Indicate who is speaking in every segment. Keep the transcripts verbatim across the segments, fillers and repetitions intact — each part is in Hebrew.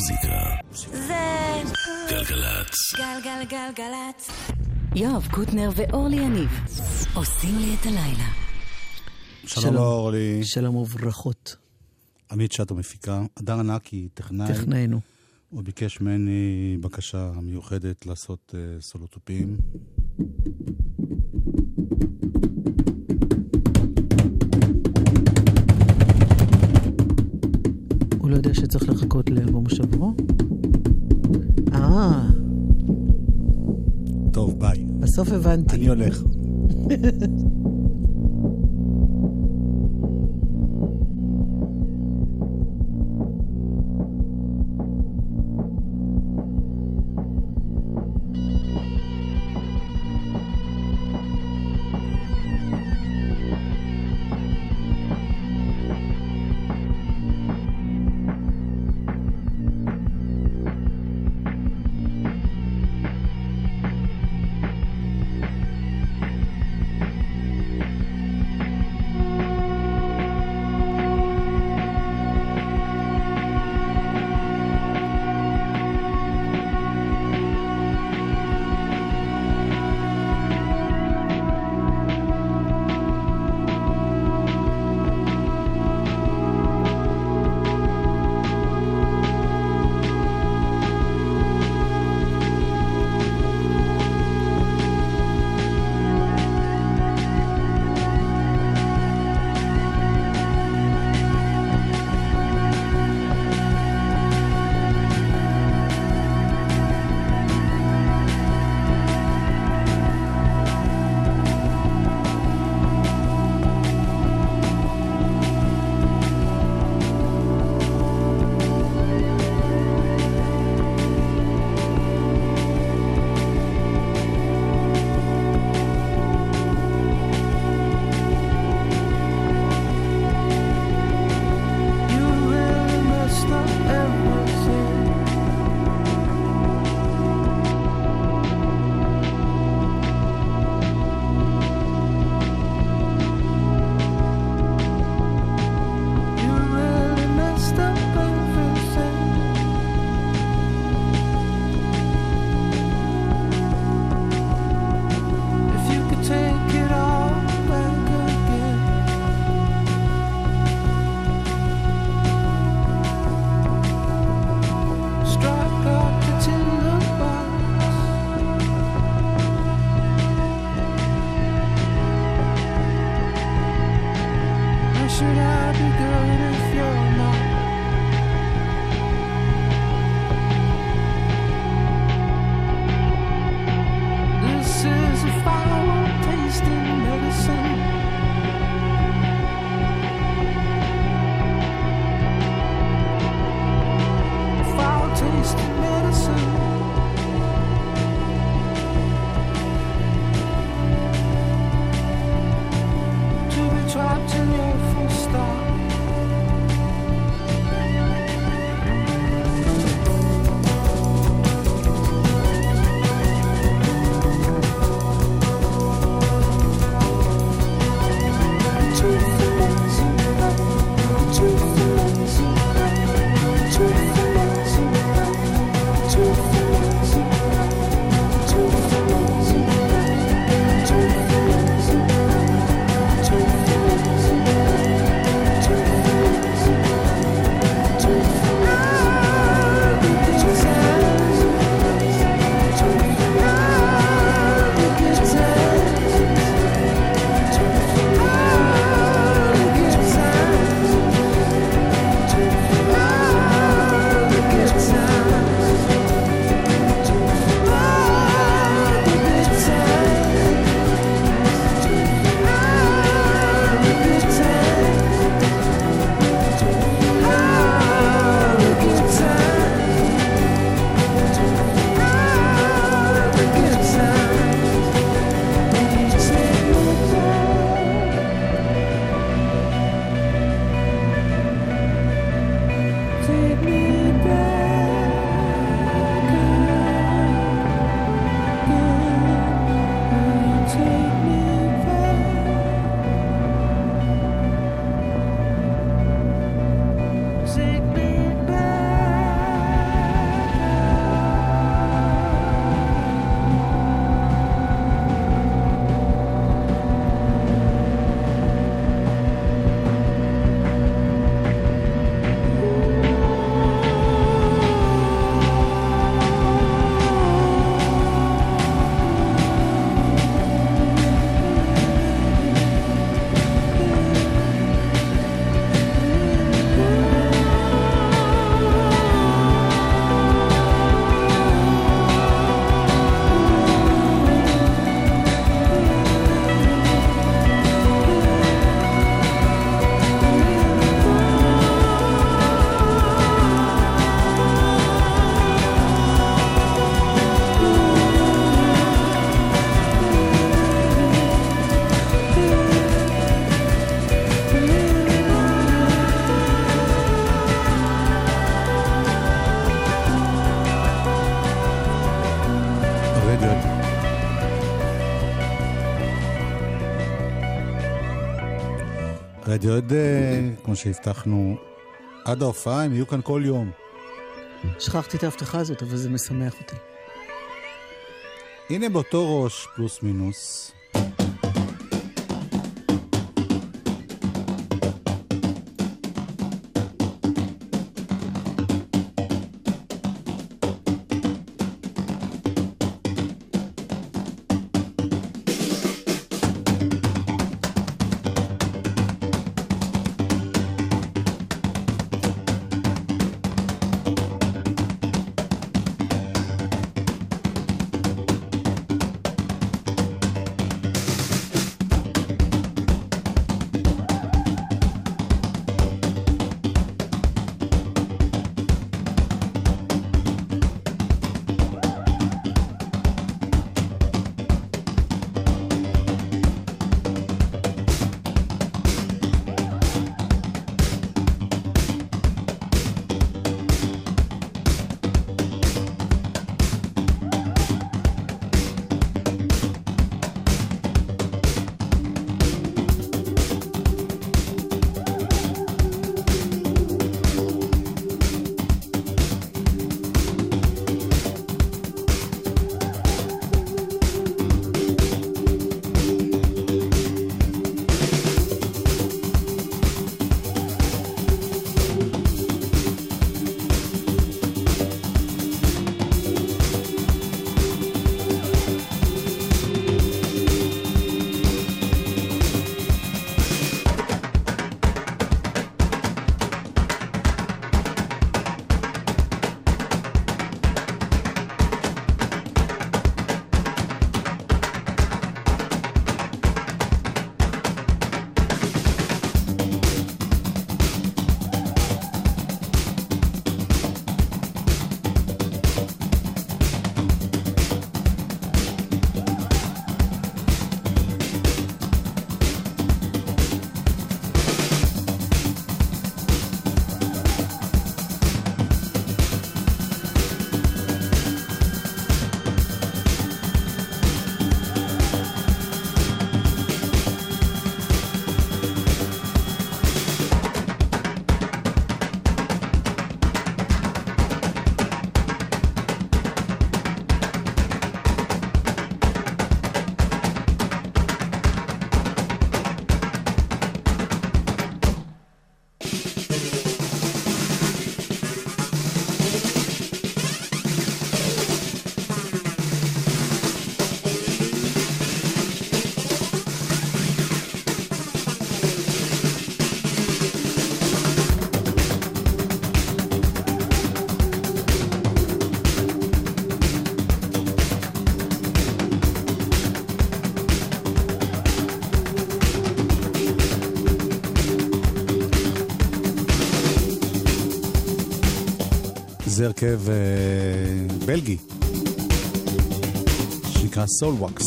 Speaker 1: המוזיקה
Speaker 2: זה
Speaker 1: גלגלצ.
Speaker 2: גלגלגלגלצ. יואב קוטנר ואורלי יניב עושים לי את הלילה.
Speaker 3: שלום אורלי.
Speaker 4: שלום וברכות.
Speaker 3: עמית שטו מפיקה. אדר ענקי, טכנאי.
Speaker 4: טכנאינו.
Speaker 3: הוא ביקש ממני בקשה מיוחדת לעשות uh, סולוטופים.
Speaker 4: הוא לא יודע שצריך לחכות לאלבום שברו? אה.
Speaker 3: טוב, ביי.
Speaker 4: בסוף הבנתי.
Speaker 3: אני הולך. רדיואד, כמו שהבטחנו, עד ההופעה הם יהיו כאן כל יום.
Speaker 4: שכחתי את ההבטחה הזאת, אבל זה משמח אותי.
Speaker 3: הנה באותו ראש, פלוס מינוס. זה הרכב uh, בלגי שנקרא סולווקס.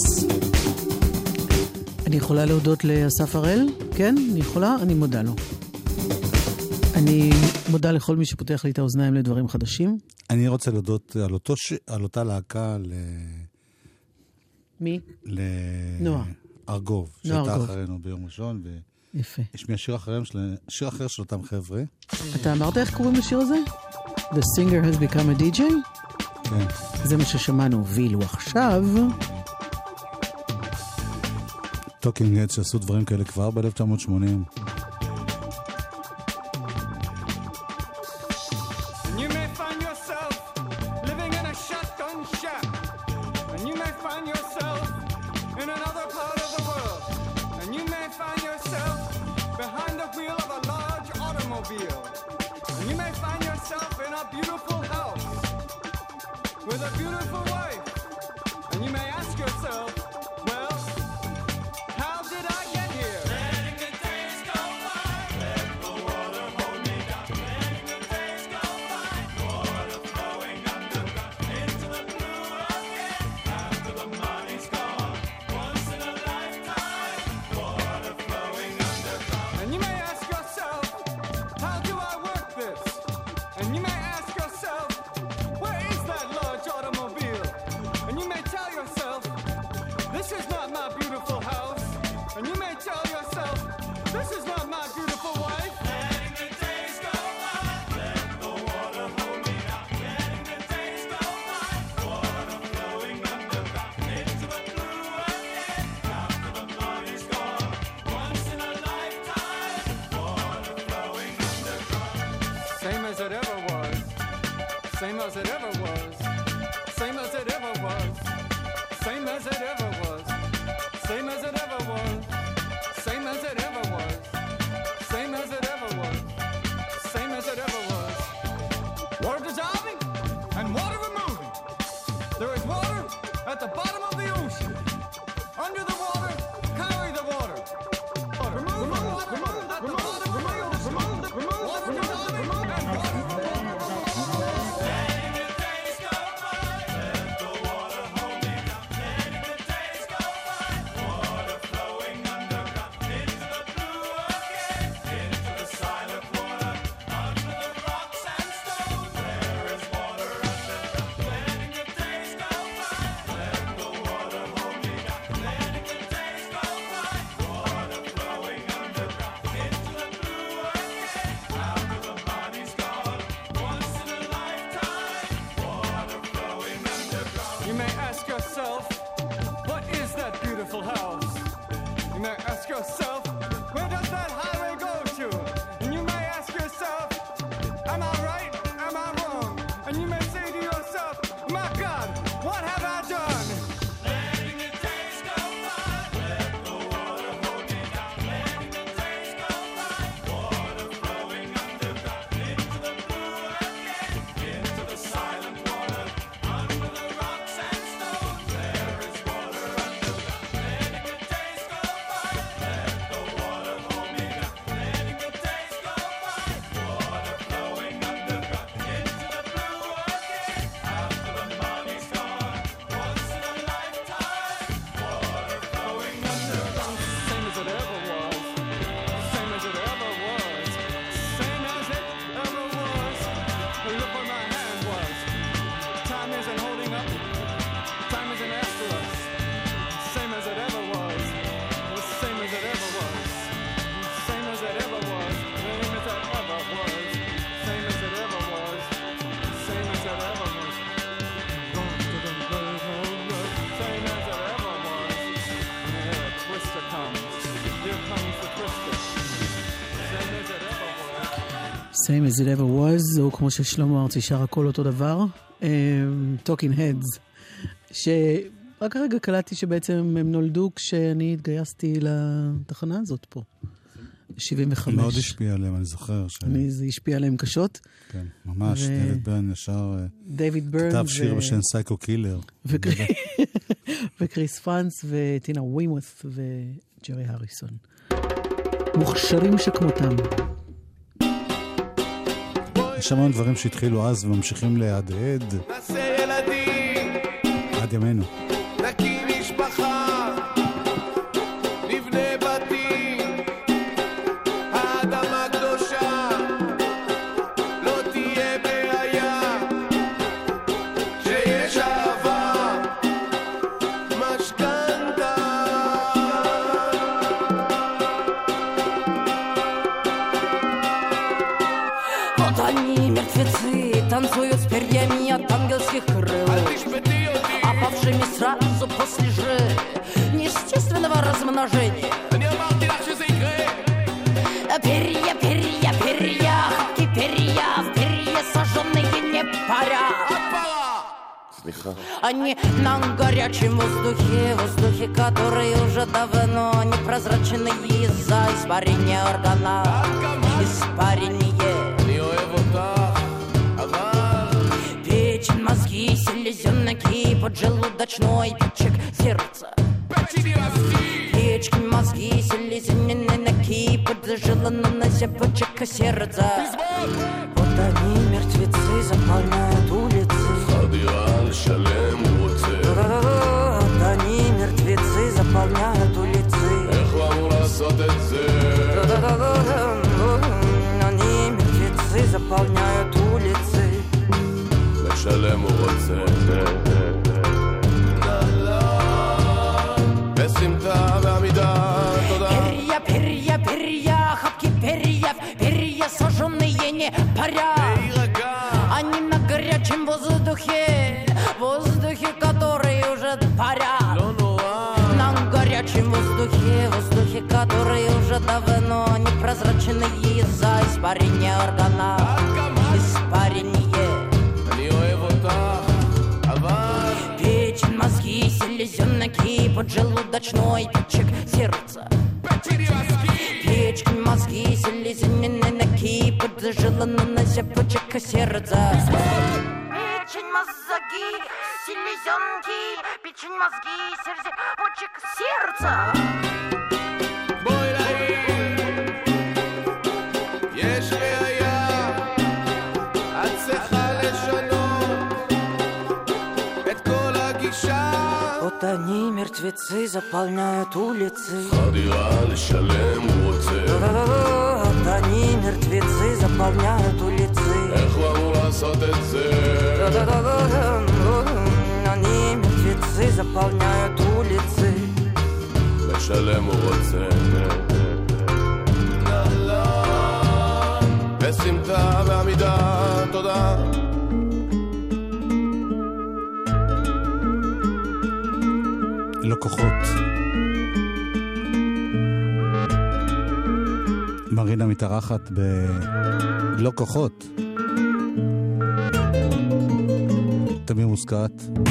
Speaker 4: אני יכולה להודות לאסף הראל? כן, אני יכולה, אני מודה לו. אני מודה לכל מי שפותח לי את האוזניים לדברים חדשים.
Speaker 3: אני רוצה להודות על, אותו ש... על אותה להקה ל...
Speaker 4: מי?
Speaker 3: ל...
Speaker 4: נועה.
Speaker 3: ארגוב, שהייתה אחרינו ביום ראשון. ו...
Speaker 4: יפה.
Speaker 3: יש מי השיר, של... שיר אחר של אותם חבר'ה.
Speaker 4: אתה אמרת איך קוראים לשיר הזה? The singer has become a די ג'יי?
Speaker 3: כן.
Speaker 4: זה מה ששמענו, ואילו עכשיו...
Speaker 3: טוקינג הדס שעשו דברים כאלה כבר ב-אלף תשע מאות שמונים.
Speaker 1: Same as it ever was. Same as it ever was. Same as it ever was. Same as it ever was. Same as it ever was. Same as it ever was. Same as it ever was. Water dissolving and water removing. There is water at the bottom of the ocean. Under the water, carry the water. Water. Remove the water. Remove the water. Remove the water. Remove water dissolving and water removing.
Speaker 5: Letting the days go by. Let the water hold me down. Letting the days go by. Water flowing underground into the blue again. Into the silent water. Under the rocks and stones. There is water underground. Letting the days go by. Let the water hold me down. Letting the days go by. Water flowing underground into the blue again. After the body's gone. Once in a lifetime. Water flowing underground.
Speaker 1: You may ask yourself, what is that beautiful house? You may ask yourself, where does that highway go to? And you may ask yourself, am I right? Am I wrong? And you may say to yourself, my God, what have I done?
Speaker 5: Letting the days go by. Let the water hold me down. Letting the days go by. Water flowing underground into the blue again. Into the silent water. Under the rocks and stones. There is water underground. Letting the days go by. Let the water hold me down. Letting the days go by. Water flowing underground into the blue again. After the money's gone. Once in a lifetime. Water flowing underground.
Speaker 1: Same as it ever was. Same as it ever was. Same as it ever was. Look where my hand was. Time isn't holding up. Time isn't after us. Same as it ever was. Same as it ever was. Same as it ever was. Same as it ever was. Same as it ever was. Same as it ever was. Same as it ever was. Here a twister comes. Here comes the twister. Same as it ever was.
Speaker 4: Same as it ever was, או כמו ששלמה ארצי שר הכל אותו דבר, Talking Heads, שרק הרגע קלטתי שבעצם הם נולדו כשאני התגייסתי לתחנה הזאת פה, שבעים וחמש.
Speaker 3: מאוד השפיע עליהם, אני זוכר. ש...
Speaker 4: אני, זה השפיע עליהם קשות.
Speaker 3: כן, ממש, ו... דייוויד ברן ישר
Speaker 4: דייוויד ברן
Speaker 3: כתב
Speaker 4: ו...
Speaker 3: שיר בשם סייקו קילר.
Speaker 4: וקר... וקריס פרנס וטינה ווימות' וג'רי הריסון. מוכשרים שכמותם.
Speaker 3: יש המון דברים שהתחילו אז וממשיכים להדהד
Speaker 5: נעשה ילדים.
Speaker 3: עד ימינו.
Speaker 5: נקים משפחה. נבנה בתים. האדמה קדושה. לא תהיה בעיה. שיש אהבה. משכנתה.
Speaker 2: Вот они, мертвецы, танцуют с перьями от ангельских крыл, опавшими сразу после же неестественного размножения. Перья, перья, перья, хапки перья, в перья сожженные не парят. Они на горячем воздухе, воздухе, который уже давно непрозрачный из-за испарения органа. Испарение. Печень, мозги, селезенки, поджелудочной печек сердца. Печень, мозги, селезенки, поджелудочной печек сердца. Вот они, мертвецы, заполняют улицы. Вот они, мертвецы, заполняют улицы. Они, мертвецы, заполняют улицы.
Speaker 5: לשלם הוא רוצה בסמטה בעמידה תודה
Speaker 2: Перья, перья, перья, хапки перьев, перья сожженные не парят. Они на горячем воздухе, воздухе, который уже парят. На горячем воздухе, воздухе, который уже давно непрозрачный из-за испарения органа. Испарение. поджелудочной печек сердца. Печки, мозги, селезенины ноги, поджелудно на зябочек сердца. Печень, мозги, селезенки, печень, мозги, зябочек сердца.
Speaker 5: בואי לעיר, יש בעיה, את צריכה לשנות את כל הגישה.
Speaker 2: Вот они, мертвецы, заполняют улицы.
Speaker 5: הדירה לשלם הוא רוצה.
Speaker 2: Вот они, мертвецы, заполняют улицы.
Speaker 5: איך הוא אמור לעשות את זה?
Speaker 2: Они, мертвецы, заполняют улицы.
Speaker 5: לשלם הוא רוצה. בסמטה ועמידה, תודה.
Speaker 3: לא כוחות. מרינה מתארחת בלא כוחות. תמיר מוסקת.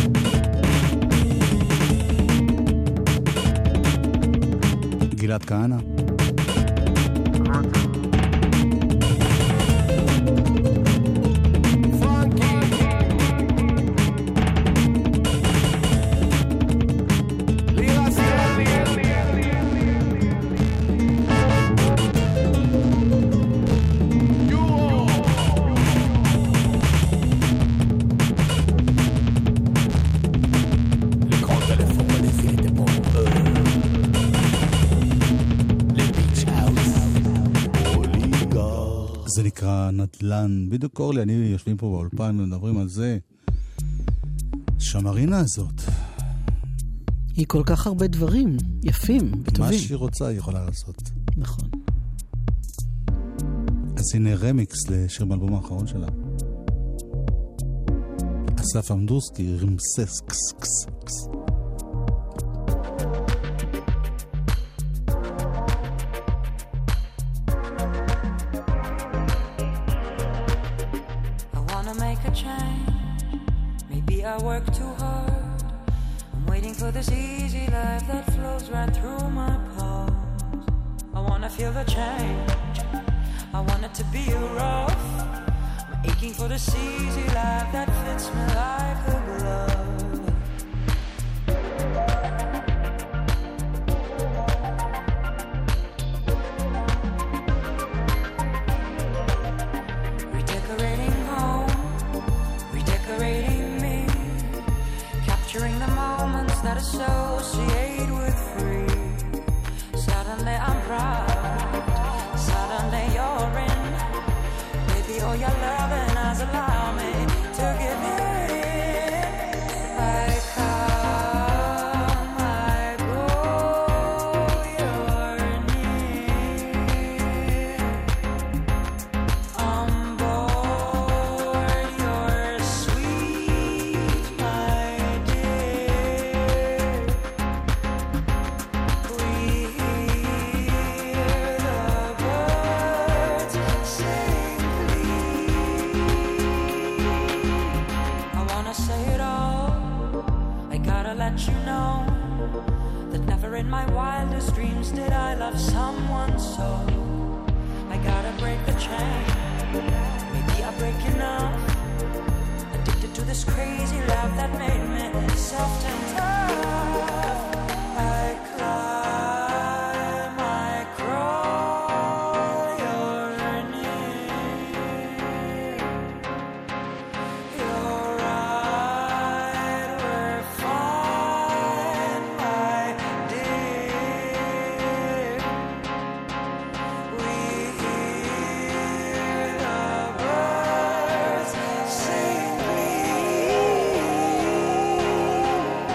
Speaker 3: גלעד כהנא. זה נקרא נדל"ן. בדיוק אורלי, אני יושבים פה באולפן ומדברים על זה. שמרינה הזאת.
Speaker 4: היא כל כך הרבה דברים יפים וטובים.
Speaker 3: מה שהיא רוצה היא יכולה לעשות.
Speaker 4: נכון.
Speaker 3: אז הנה רמיקס לשיר באלבום האחרון שלה. אסף עמדורסקי, רמסס קס קס קס.
Speaker 2: I work too hard. I'm waiting for this easy life that flows right through my pores. I wanna feel the change. I want it to be rough. I'm aching for this easy life that fits me like a glove. Redecorating home, redecorating the moments that associate with free. Suddenly I'm proud. Suddenly you're in. Baby, all your loving has allowed me to give it in. I come, I go, you're near. On board, you're sweet, my in my wildest dreams did I love someone so. I gotta break the chain. Maybe I'll break enough. Addicted to this crazy love that made me soft and tough. I climb, I crawl, you're near. You're right, we're fine, my dear. We hear the birds sing, please.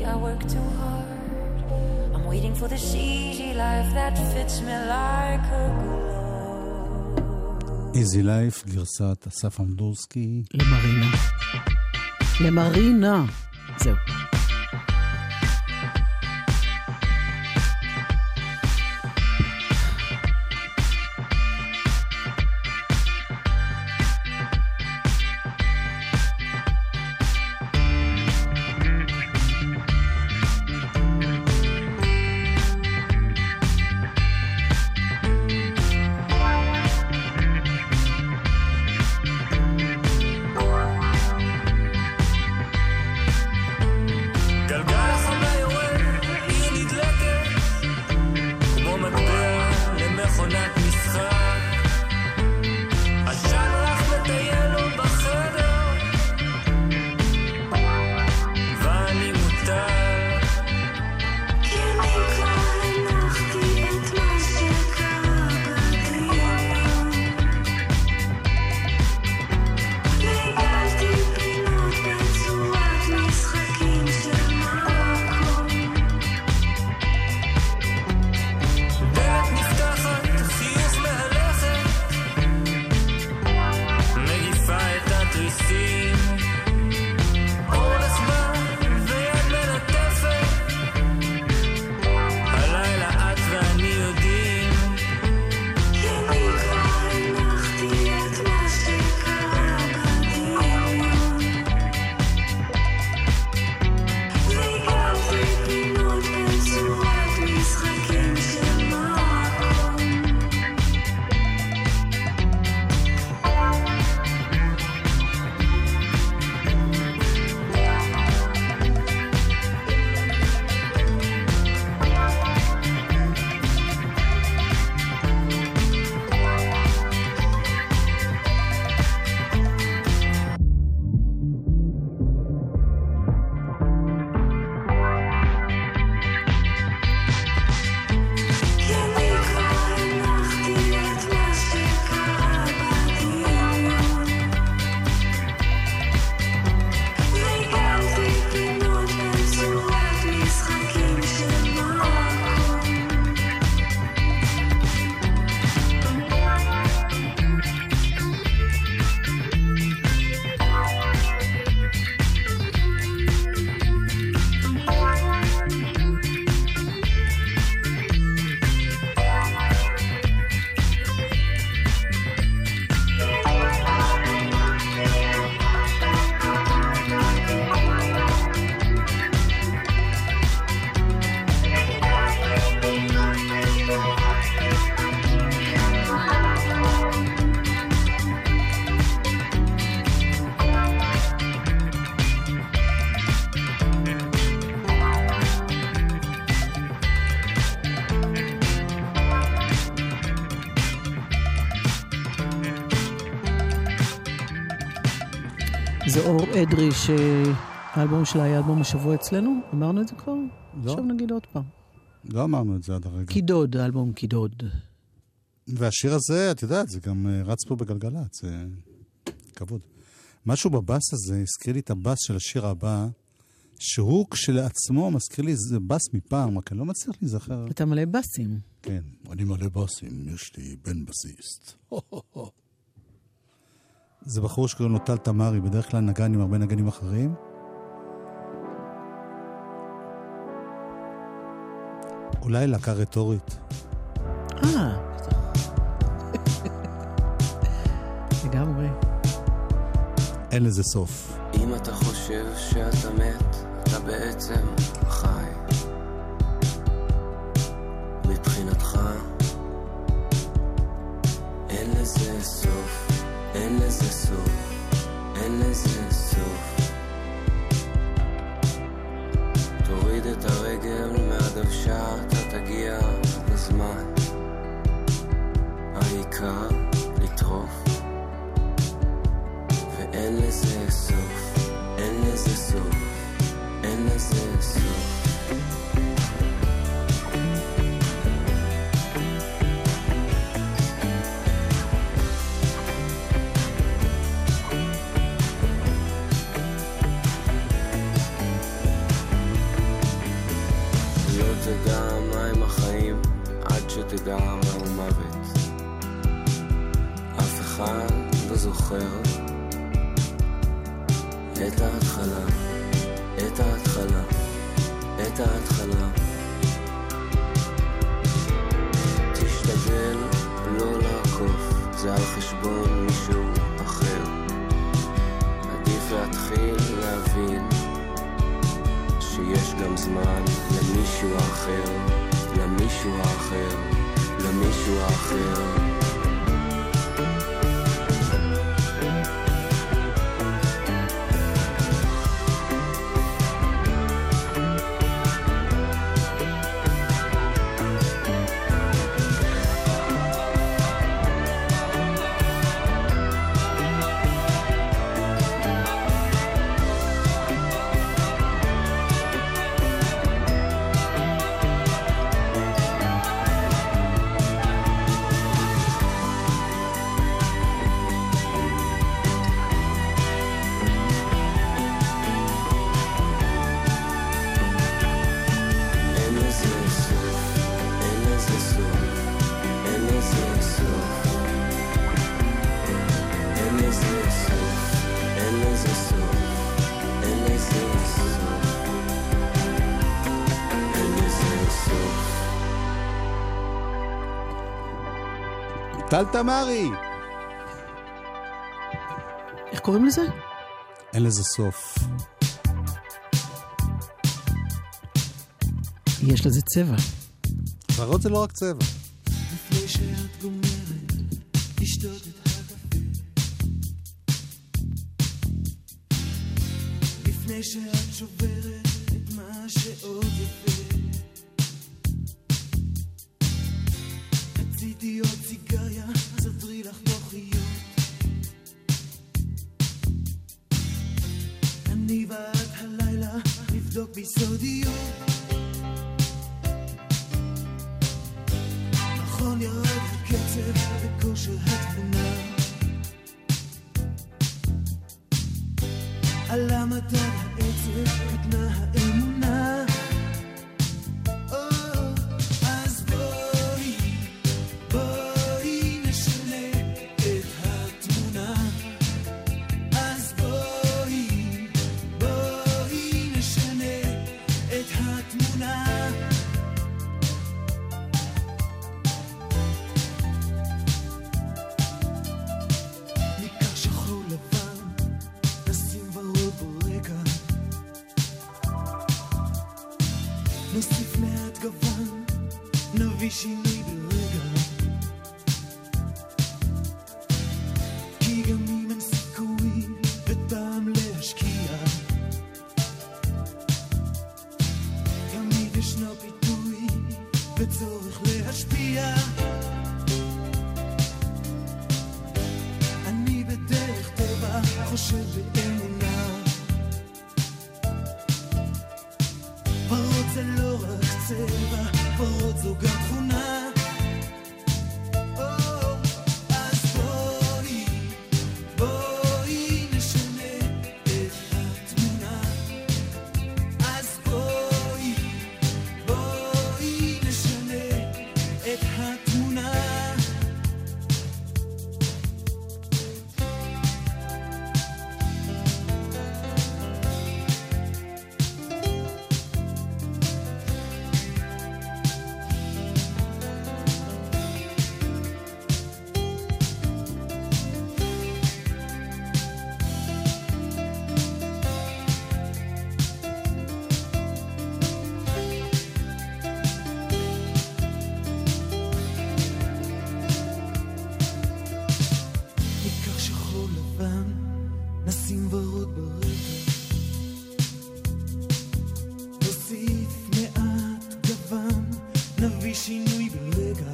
Speaker 2: I work too hard. I'm waiting for this easy life that fits me like a glove.
Speaker 3: איזי לייף, גרסת אסף אמדורסקי.
Speaker 4: למרינה. למרינה. זהו. זה אור אדרי, שהאלבום שלה היה אלבום השבוע אצלנו. אמרנו את זה כבר?
Speaker 3: לא.
Speaker 4: עכשיו נגיד עוד פעם.
Speaker 3: לא אמרנו את זה עד הרגע.
Speaker 4: קידוד, האלבום קידוד.
Speaker 3: והשיר הזה, את יודעת, זה גם רץ פה בגלגלת, זה כבוד. משהו בבאס הזה הזכיר לי את הבאס של השיר הבא, שהוא כשלעצמו מזכיר לי, זה באס מפעם, רק אני לא מצליח להיזכר.
Speaker 4: אתה מלא באסים.
Speaker 3: כן, אני מלא באסים, יש לי בן בסיסט. זה בחור שקוראים לו טל תמרי, בדרך כלל נגן עם הרבה נגנים אחרים. אולי להקה רטורית.
Speaker 4: אה, לגמרי.
Speaker 3: אין לזה סוף.
Speaker 6: אם אתה חושב שאתה מת, אתה בעצם חי. מבחינתך אין לזה סוף, אין לזה סוף, אין לזה סוף. תוריד את הרגל מהדוושה, אתה תגיע לזמן. העיקר לטרוף, ואין לזה סוף, אין לזה סוף, אין לזה סוף. תיגר על מוות. אף אחד לא זוכר את ההתחלה, את ההתחלה, את ההתחלה. תשתדל לא לעקוף, זה על חשבון מישהו אחר. עדיף להתחיל להבין שיש גם זמן למישהו אחר, למישהו אחר, למישהו אחר.
Speaker 3: טל תמרי!
Speaker 4: איך קוראים לזה?
Speaker 3: אין לזה סוף.
Speaker 4: יש לזה צבע.
Speaker 3: ורוד זה לא רק צבע.
Speaker 7: לפני שאת גומרת, תשתות את הקפה. לפני שאת שוברת את מה שעוד יפה. רציתי עוד סיגריה, אז אדרי לך בוחיות. אני ואת הלילה נבדוק בסודיות. נכון ירד הקצב וכושר התבונה. על המדד העצב קטנה האמונה. אז בואי, בואי נשנה את התמונה. אז בואי, בואי נשנה את התמונה. ניקח שחור לבן, נשים ורוד ברקע. נוסיף מעט גוון, נביא שינוי ברגע. כי גם אם אין סיכוי וטעם להשקיע, תמיד ישנו פיתוי וצורך להשפיע. אני בדרך טבע חושב באמונה. ורוד זה לא רק צבע, ורוד זו גם תכונה. אז בואי, בואי נשנה את התמונה. אז בואי, בואי נשנה את התמונה. ניקח שחור לבן, נשים ורוד ברקע. נוסיף מעט גוון, נביא שינוי ברגע.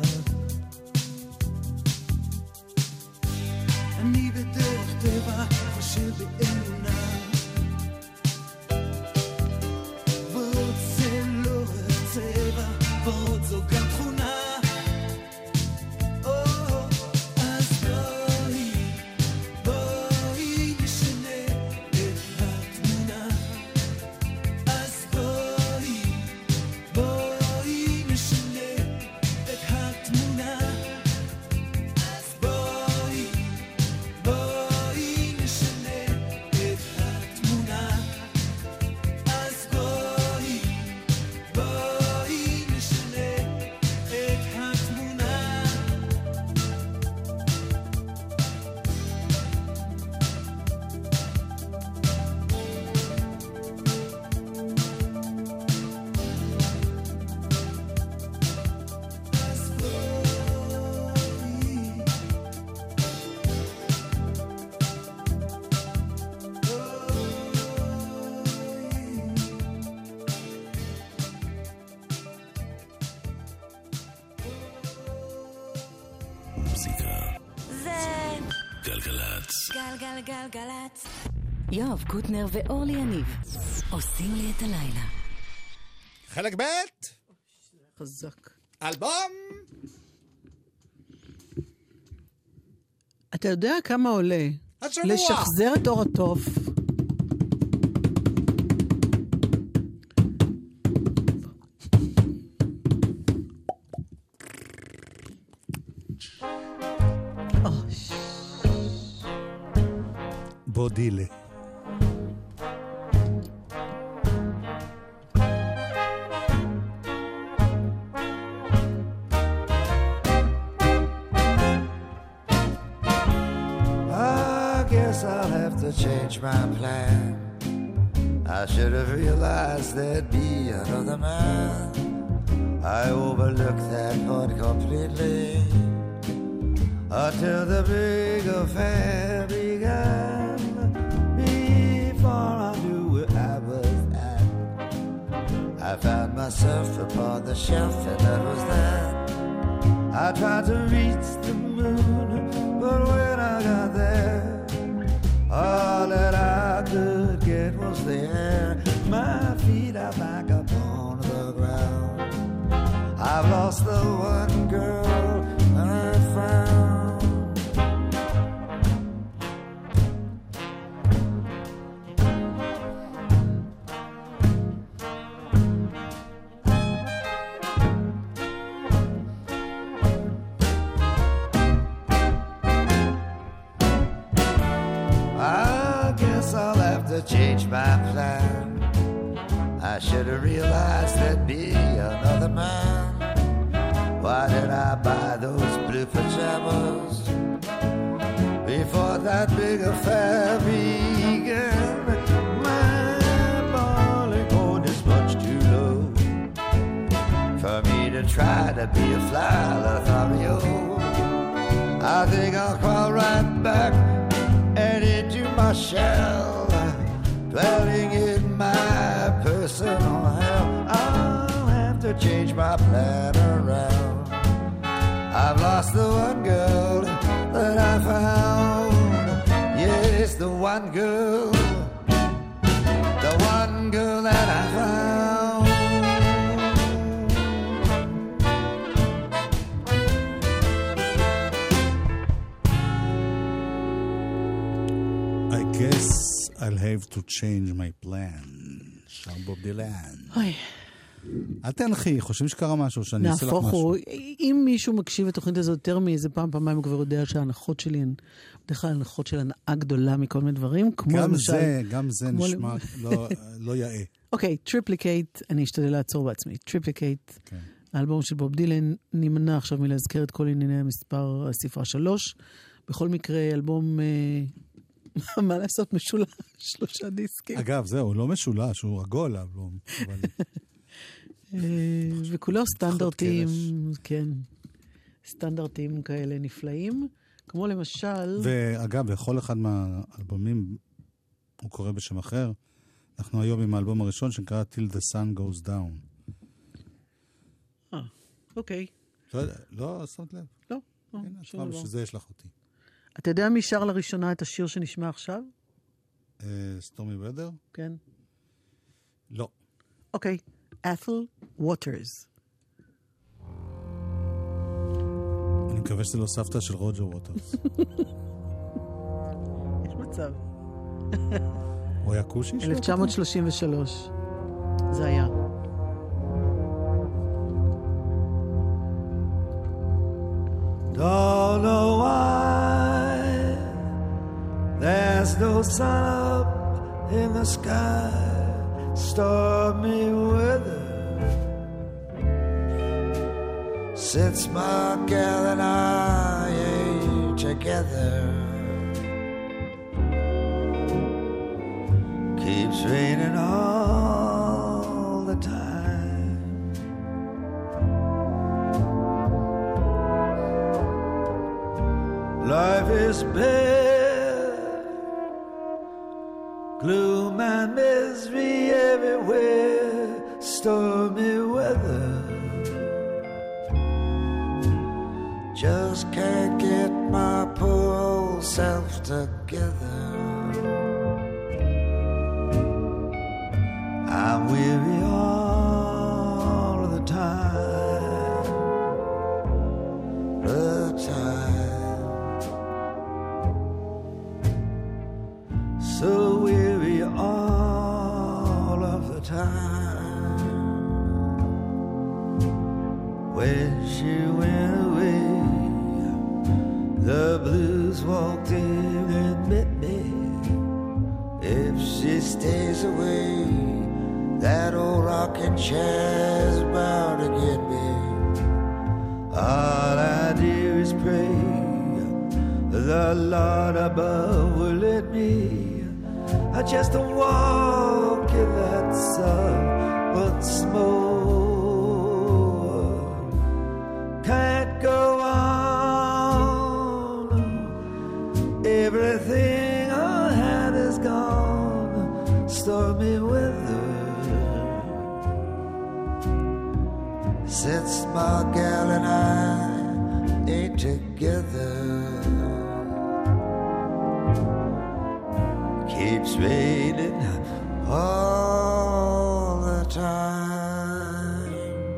Speaker 7: אני בדרך טבע חושב באמונה. ורוד זה לא רק צבע, ורוד זו גם תכונה. אז בואי, בואי נשנה את התמונה. אז בואי, בואי נשנה
Speaker 8: גלגלצ.
Speaker 2: גלגלגלגלצ.
Speaker 9: יואב קוטנר ואורלי יניב עושים לי את הלילה.
Speaker 3: חלק ב'
Speaker 4: חזק.
Speaker 3: אלבום.
Speaker 4: אתה יודע כמה עולה
Speaker 3: השבוע.
Speaker 4: לשחזר את אור התוף?
Speaker 3: בודילה.
Speaker 10: Change my plan. I should have realized there'd be another man. I overlooked that part completely until the big affair began. Before I knew where I was at, I found myself upon the shelf, and that was that. I tried to reach the moon, but when I got there, all that I could get was the air. My feet are back upon the ground. I've lost the one girl I found. Change my plan. I should have realized there'd be another man. Why did I buy those blue pajamas before that big affair began? My boiling point is much too low for me to try to be a fly Lothario. I think I'll crawl right back and into my shell, dwelling in my personal hell. I'll have to change my plan around. I've lost the one girl that I found. Yes, the one girl, the one girl that I found.
Speaker 3: I guess I'll have to change my plan. שר בוב דילן.
Speaker 4: אוי.
Speaker 3: אל תנחי, חושבים שקרה משהו, שאני אעשה לך משהו.
Speaker 4: נהפוך הוא, אם מישהו מקשיב לתוכנית הזאת יותר מאיזה פעם, פעמיים, הוא כבר יודע שההנחות שלי הן, בדרך כלל הנחות של הנאה גדולה מכל מיני דברים, כמו
Speaker 3: גם
Speaker 4: למשל...
Speaker 3: זה, גם זה נשמע לא, לא יאה.
Speaker 4: אוקיי, טריפליקייט, אני אשתדל לעצור בעצמי. טריפליקייט,
Speaker 3: כן.
Speaker 4: האלבום של בוב דילן, נמנע עכשיו מלהזכר את כל ענייני המספר הספרה שלוש. בכל מקרה, אלבום... מה לעשות? משולש, שלושה דיסקים.
Speaker 3: אגב, זהו, הוא לא משולש, הוא עגול, האלבום.
Speaker 4: וכולו סטנדרטים, כן, סטנדרטים כאלה נפלאים, כמו למשל...
Speaker 3: ואגב, בכל אחד מהאלבומים, הוא קורא בשם אחר, אנחנו היום עם האלבום הראשון שנקרא Till the Sun Goes Down.
Speaker 4: אה, אוקיי.
Speaker 3: לא יודע, לא שמת לב.
Speaker 4: לא,
Speaker 3: הנה, עכשיו שזה יש לך אותי.
Speaker 4: אתה יודע מי שר לראשונה את השיר שנשמע עכשיו?
Speaker 3: סטורמי ודר?
Speaker 4: כן.
Speaker 3: לא.
Speaker 4: אוקיי, את'ל ווטרס.
Speaker 3: אני מקווה שזה לא סבתא של רוג'ר ווטרס.
Speaker 4: יש מצב.
Speaker 3: הוא היה קושי?
Speaker 4: אלף תשע מאות שלושים ושלוש. זה היה.
Speaker 10: Don't know why there's no sun up in the sky, stormy weather. Since my gal and I ain't together, keeps raining all the time. Life is bare, gloom and misery everywhere, stormy weather. Just can't get my poor old myself together. I'm weary all of the time, the time. So weary all of the time. When she went away, the blues walked in and met me. If she stays away, that old rocking chair's bound to get me. All I do is pray the Lord above will let me I just walk in that sun once more. Can't go on. Everything I had is gone. Stormy weather. Since my gal and I ain't together, keeps raining all the time.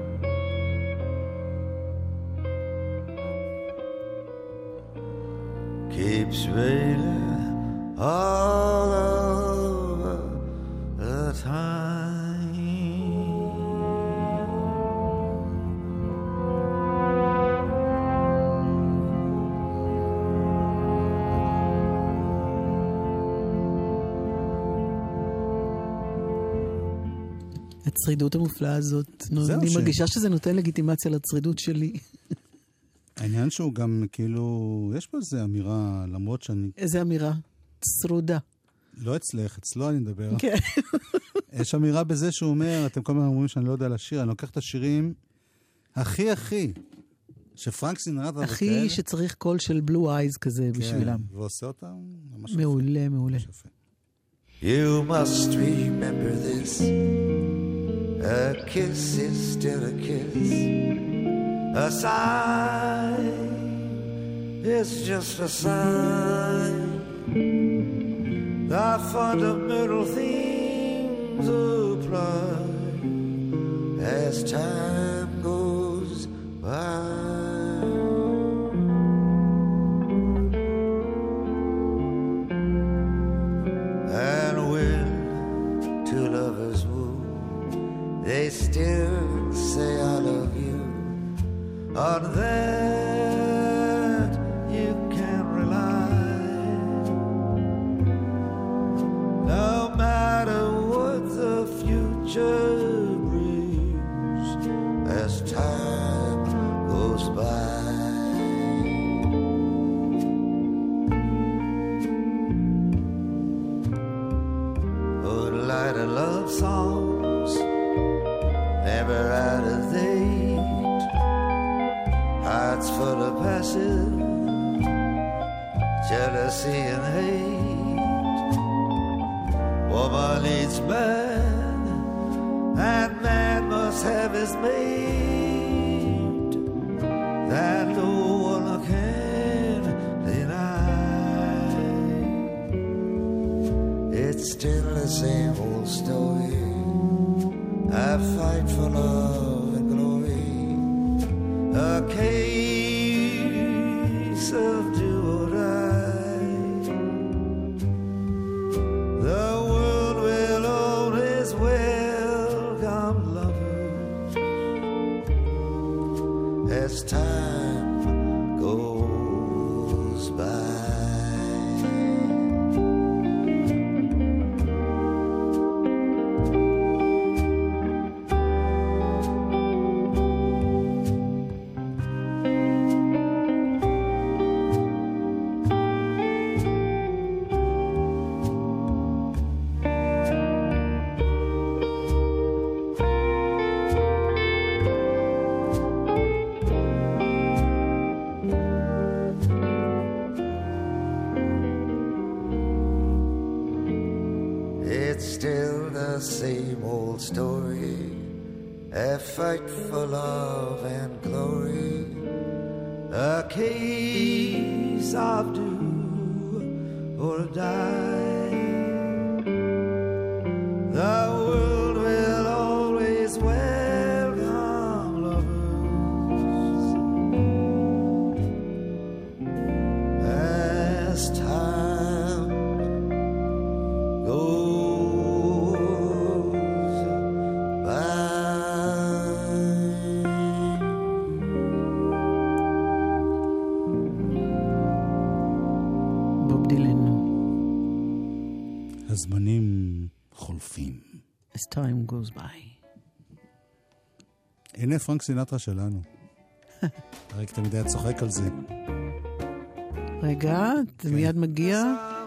Speaker 10: Keeps raining all over the time.
Speaker 4: הצרידות המופלאה הזאת,
Speaker 3: זהו
Speaker 4: אני
Speaker 3: ש-
Speaker 4: מרגישה שזה נותן לגיטימציה לצרידות שלי.
Speaker 3: העניין שהוא גם כאילו, יש פה איזו אמירה, למרות שאני
Speaker 4: איזה אמירה? צרודה.
Speaker 3: לא אצלך, אצלו אני מדבר.
Speaker 4: כן.
Speaker 3: יש אמירה בזה שהוא אומר, אתם כל הזמן אומרים שאני לא יודע לשיר, אני לוקח את השירים הכי הכי, שפרנק סינטרה
Speaker 4: הכי
Speaker 3: וכאלה.
Speaker 4: שצריך קול של בלו אייז כזה בשבילם.
Speaker 3: כן, ועושה אותם ממש יפה.
Speaker 4: מעולה, מעולה.
Speaker 3: יפה.
Speaker 10: You must remember this. A kiss is still a kiss. A sigh is just a sigh. The fundamental things apply as time goes by. And when two lovers woo, they still say I love you. On that you can rely. No matter what the future brings as time goes by. Would light a love songs never out of date. Hearts full of passion, jealousy and hate. Woman needs man, and man must have his mate. That no one can deny. It's still the same old story. I fight for love and glory. A case of do or die. The world will always welcome lovers as time goes by. It's still the same old story. A fight for love and glory. A case of do or die. The world will always welcome lovers as time goes by.
Speaker 4: בוב דילן.
Speaker 3: הזמנים חולפים.
Speaker 4: As time goes by.
Speaker 3: הנה פרנק סינטרה שלנו. אריק תמיד היה צוחק על זה.
Speaker 4: רגע, זה מיד מגיע.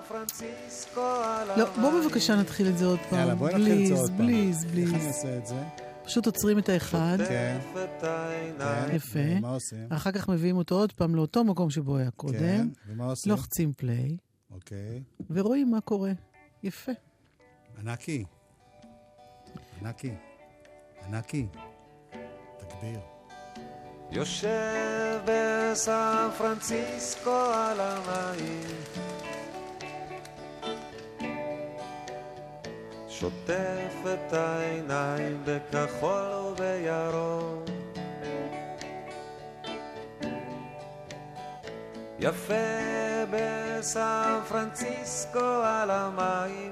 Speaker 4: לא, בוא בבקשה נתחיל את זה עוד פעם.
Speaker 3: יאללה, בואי נתחיל את זה עוד פעם.
Speaker 4: בליז,
Speaker 3: איך
Speaker 4: בליז.
Speaker 3: אני אעשה את זה?
Speaker 4: פשוט עוצרים את האחד.
Speaker 3: כן.
Speaker 4: יפה.
Speaker 3: מה עושים?
Speaker 4: אחר כך מביאים אותו עוד פעם לאותו מקום שבו היה
Speaker 3: כן.
Speaker 4: קודם.
Speaker 3: ומה עושים?
Speaker 4: לוחצים פליי,
Speaker 3: אוקיי.
Speaker 4: ורואים מה קורה. יפה.
Speaker 3: ענקי. ענקי. ענקי. תגביר.
Speaker 8: יושב בסן פרנסיסקו על המים, שוטף את העיניים בכחול ובירוק, יפה בסן פרנסיסקו על המים,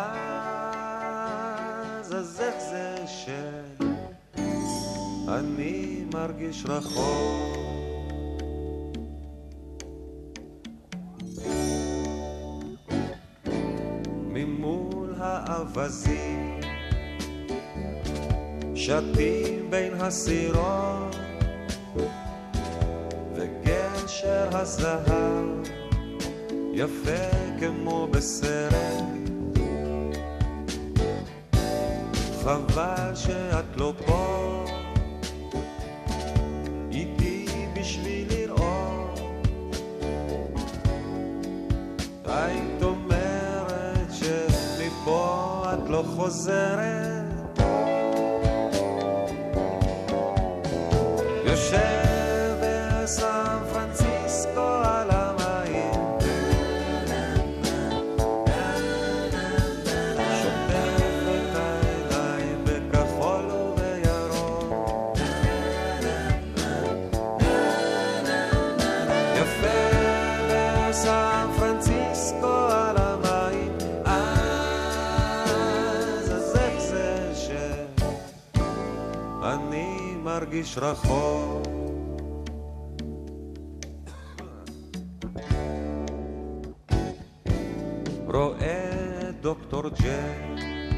Speaker 8: אז אז איך זה שאני מרגיש רחוק, ממול האבזים שתים בין הסירות וגשר הזהב יפה כמו בסרט, חבל שאת לא פה איתי בשביל לראות, היית אומרת שמפה את לא חוזרת, יושב בסן פרנסיסקו על המים, שוטף את העיניים בכחול ובירוק, יפה בסן פרנסיסקו על המים, אז אז איך זה שאני מרגיש רחוק, רואה דוקטור ג'ק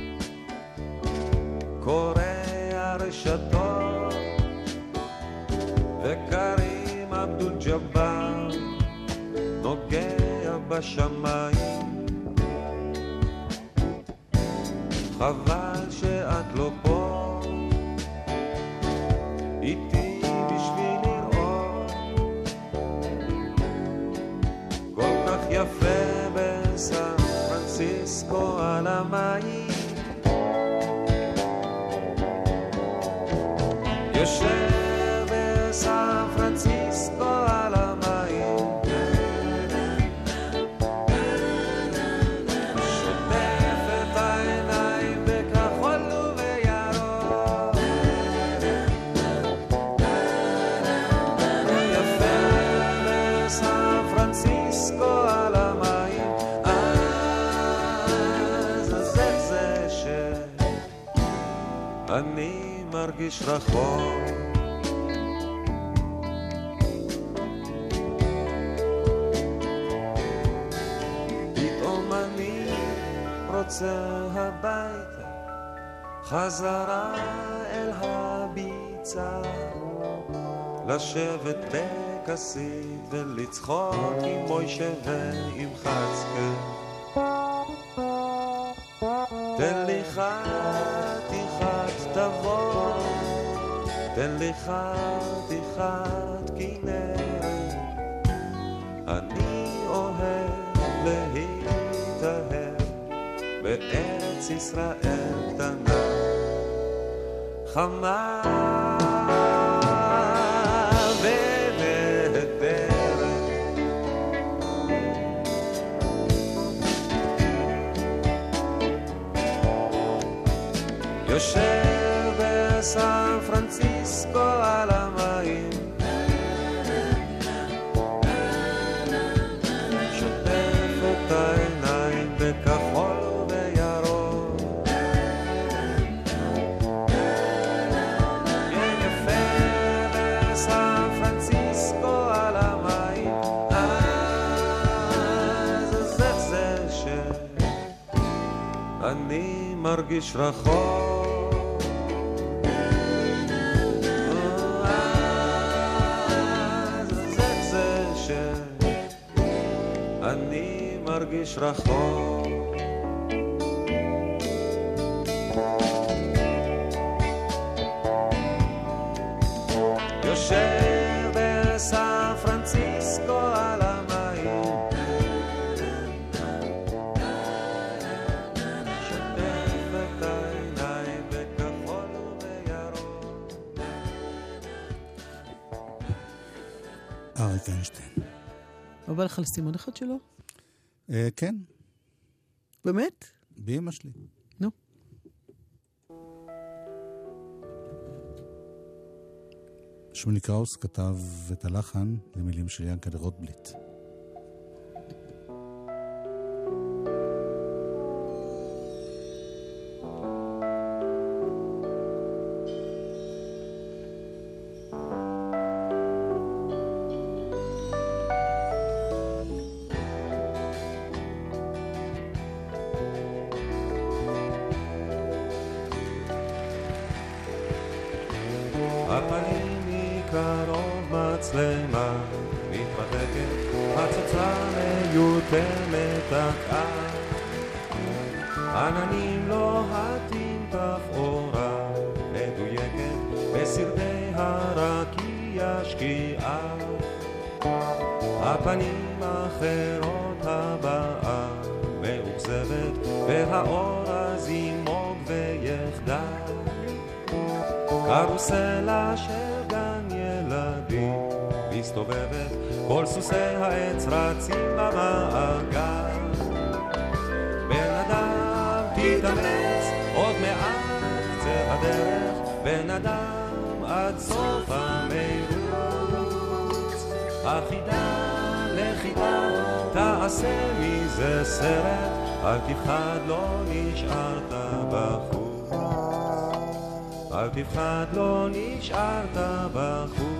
Speaker 8: קורא הרשתות וקרים אבדול ג'בר נוגע בשמיים, חבל שאת לא פה איתי בשביל לראות, כל כך יפה בסן פרנסיסקו על המים, יושב בסן פרנסיסקו על המים, שוטף את העיניים בכחול ובירוק, יפה בסן פרנסיסקו על המים, אז אז איך זה שאני מרגיש רחוק, פתאום אני רוצה הביתה, חזרה אל הביצה, לשבת בכסית ולצחוק עם מוישה ועם חצקה, תן לי חתיכת תבוא, תן לי חתיכת כנרת, אני אוהב להתאהב בארץ ישראל קטנה, חמה ונהדרת, יושב בסן פרנסיסקו על המים, שוטף את העיניים בכחול ובירוק. כן יפה בסן פרנסיסקו על המים, אז זה זה שאני מרגיש רחוק. אני מרגיש רחוק. יושב בסן פרנסיסקו על המים, שוטף את העיניים בכחול ובירוק.
Speaker 3: אריק איינשטיין.
Speaker 4: לא בא לך לסימון אחד שלו?
Speaker 3: אה, כן,
Speaker 4: באמת?
Speaker 3: באמא שלי.
Speaker 4: נו.
Speaker 3: שמולי קראוס כתב את הלחן למילים של ינקלה רוטבליט.
Speaker 8: הפנים מקרוב מצלמה מתרחקת, הצצה מיותמת תקעה, עננים לוהטים תפאורה מדויקת בסרטי הרקיע שקיעה, הפנים אחרות הבאה מאוכזבת והאור הזימוג ויחדה, קרוסלה של גן ילדים מסתובבת, כל סוסי העץ רצים במעגל. בן אדם תתאמץ, עוד מעט קצה הדרך, בן אדם עד סוף המרוץ, החידה לחידה תעשה מזה סרט, אל תפחד לא נשארת בחוץ, אל תפחד לא נשארת בחוץ.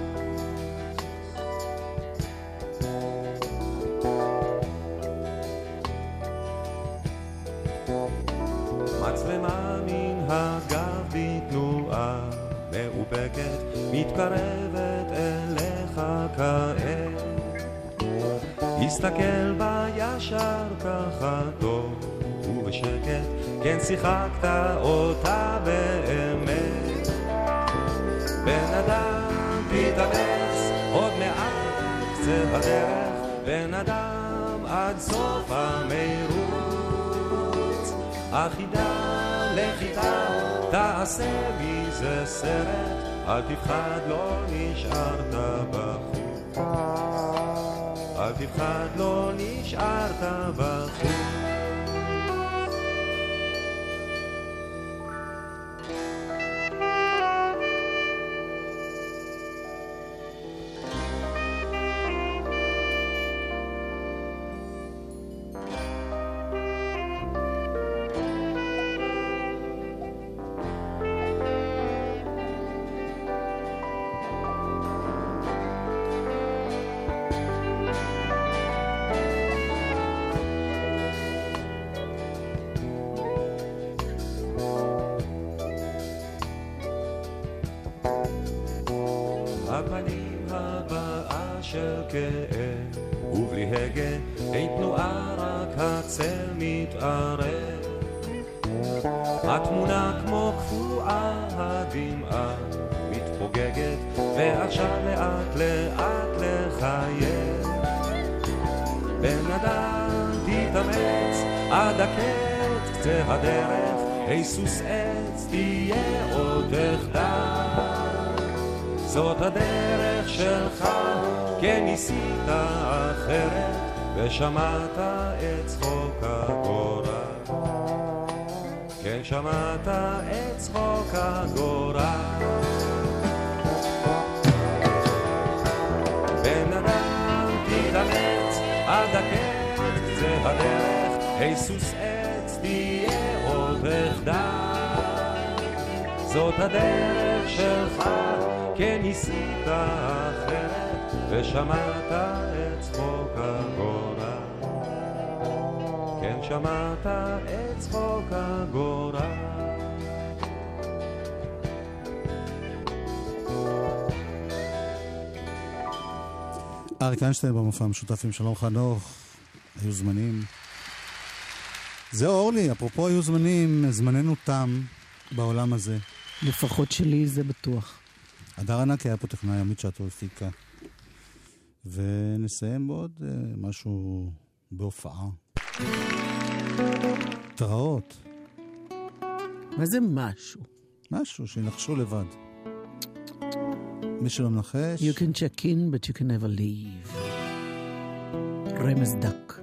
Speaker 8: מצלמה מן הגב בתנועה מאופקת מתקרבת אליך כעת, הסתכל בה ישר ככה טוב ובשקט, כן שיחקת אותה באמת. בן אדם תתאמץ, עוד מעט קצה הדרך, בן אדם עד סוף המרוץ, החידה לחידה תעשה מזה סרט, אל תפחד לא נשארת בחוץ, אל תפחד לא נשארת בחוץ. הפנים הבאה של כאב ובלי הגה, אין תנועה רק הצל מתערב, התמונה כמו קפואה, הדמעה מתפוגגת ועכשיו לאט לאט לחייב. בן אדם תתאמץ עד הקט קצה הדרך, היסוס עץ תהיה עוד תחתך, זאת הדרך שלך, כן ניסית אחרת ושמעת את צחוק הגורל, כן שמעת את צחוק הגורל. בן אדם תתאמץ עד הקץ זה הדרך, היסוס עץ תהיה עוד אחדל. זאת הדרך שלך, כן ניסית אחרת ושמעת את צחוק הגורל. כן שמעת את צחוק הגורל.
Speaker 3: אריק איינשטיין במופע המשותף עם שלום חנוך. היו זמנים. זהו אורלי, אפרופו היו זמנים, זמננו תם בעולם הזה.
Speaker 4: לפחות שלי זה בטוח.
Speaker 3: הדר ענק היה פה טכנאי, עמית שעתו הפיקה. ונסיים בעוד uh, משהו בהופעה. תראות.
Speaker 4: מה זה משהו?
Speaker 3: משהו, שינחשו לבד. מי שלא מנחש...
Speaker 4: You can check in, but you can never leave. רמז דק.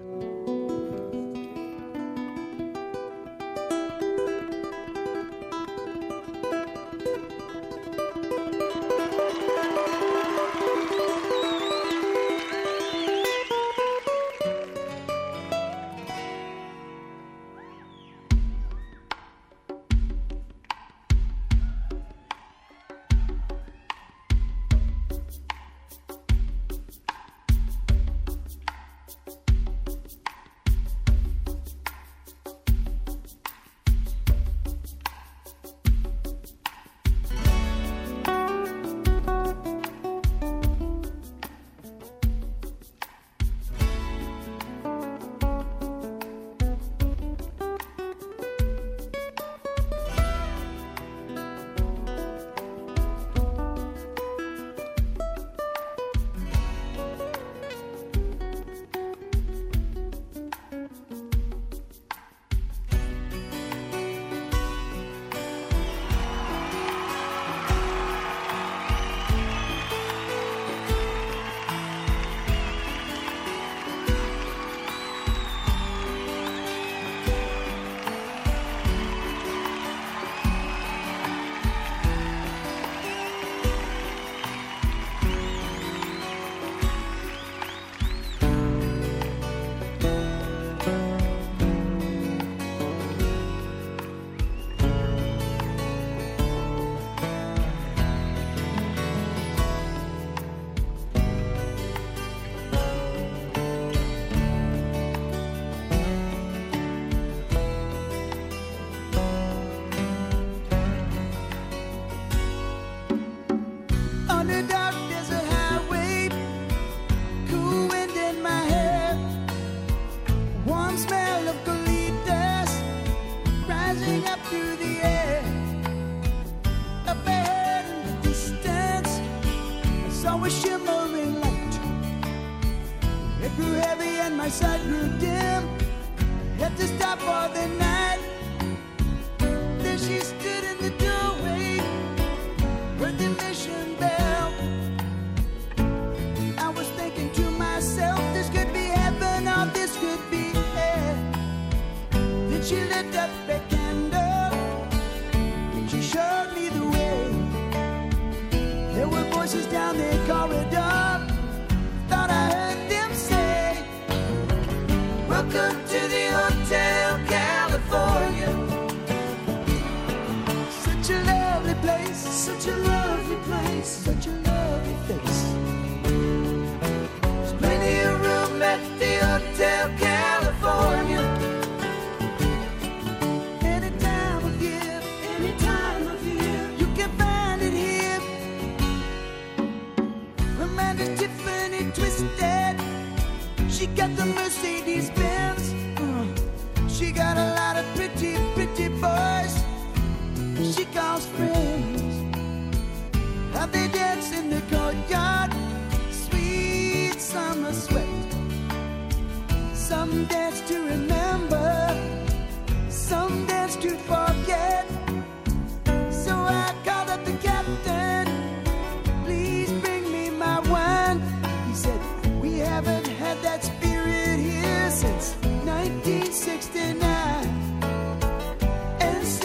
Speaker 7: nineteen sixty-nine, and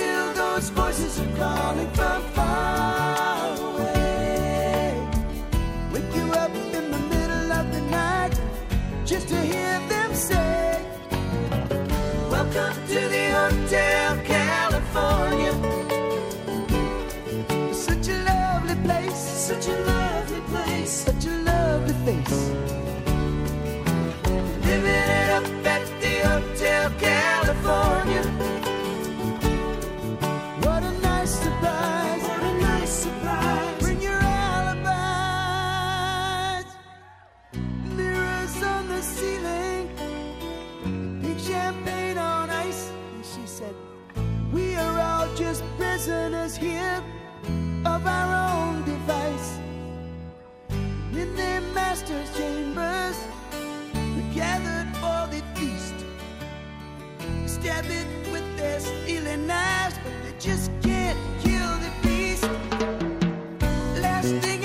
Speaker 7: such a lovely place, such a lovely face. Living it up at the Hotel California. What a nice surprise, what a nice surprise. Bring your alibis. Mirrors on the ceiling, pink champagne on ice. And she said, we are all just prisoners here of our own device. In their master's chambers, we gathered for the feast. Stab it with their stealing knives, but they just can't kill the beast. Last thing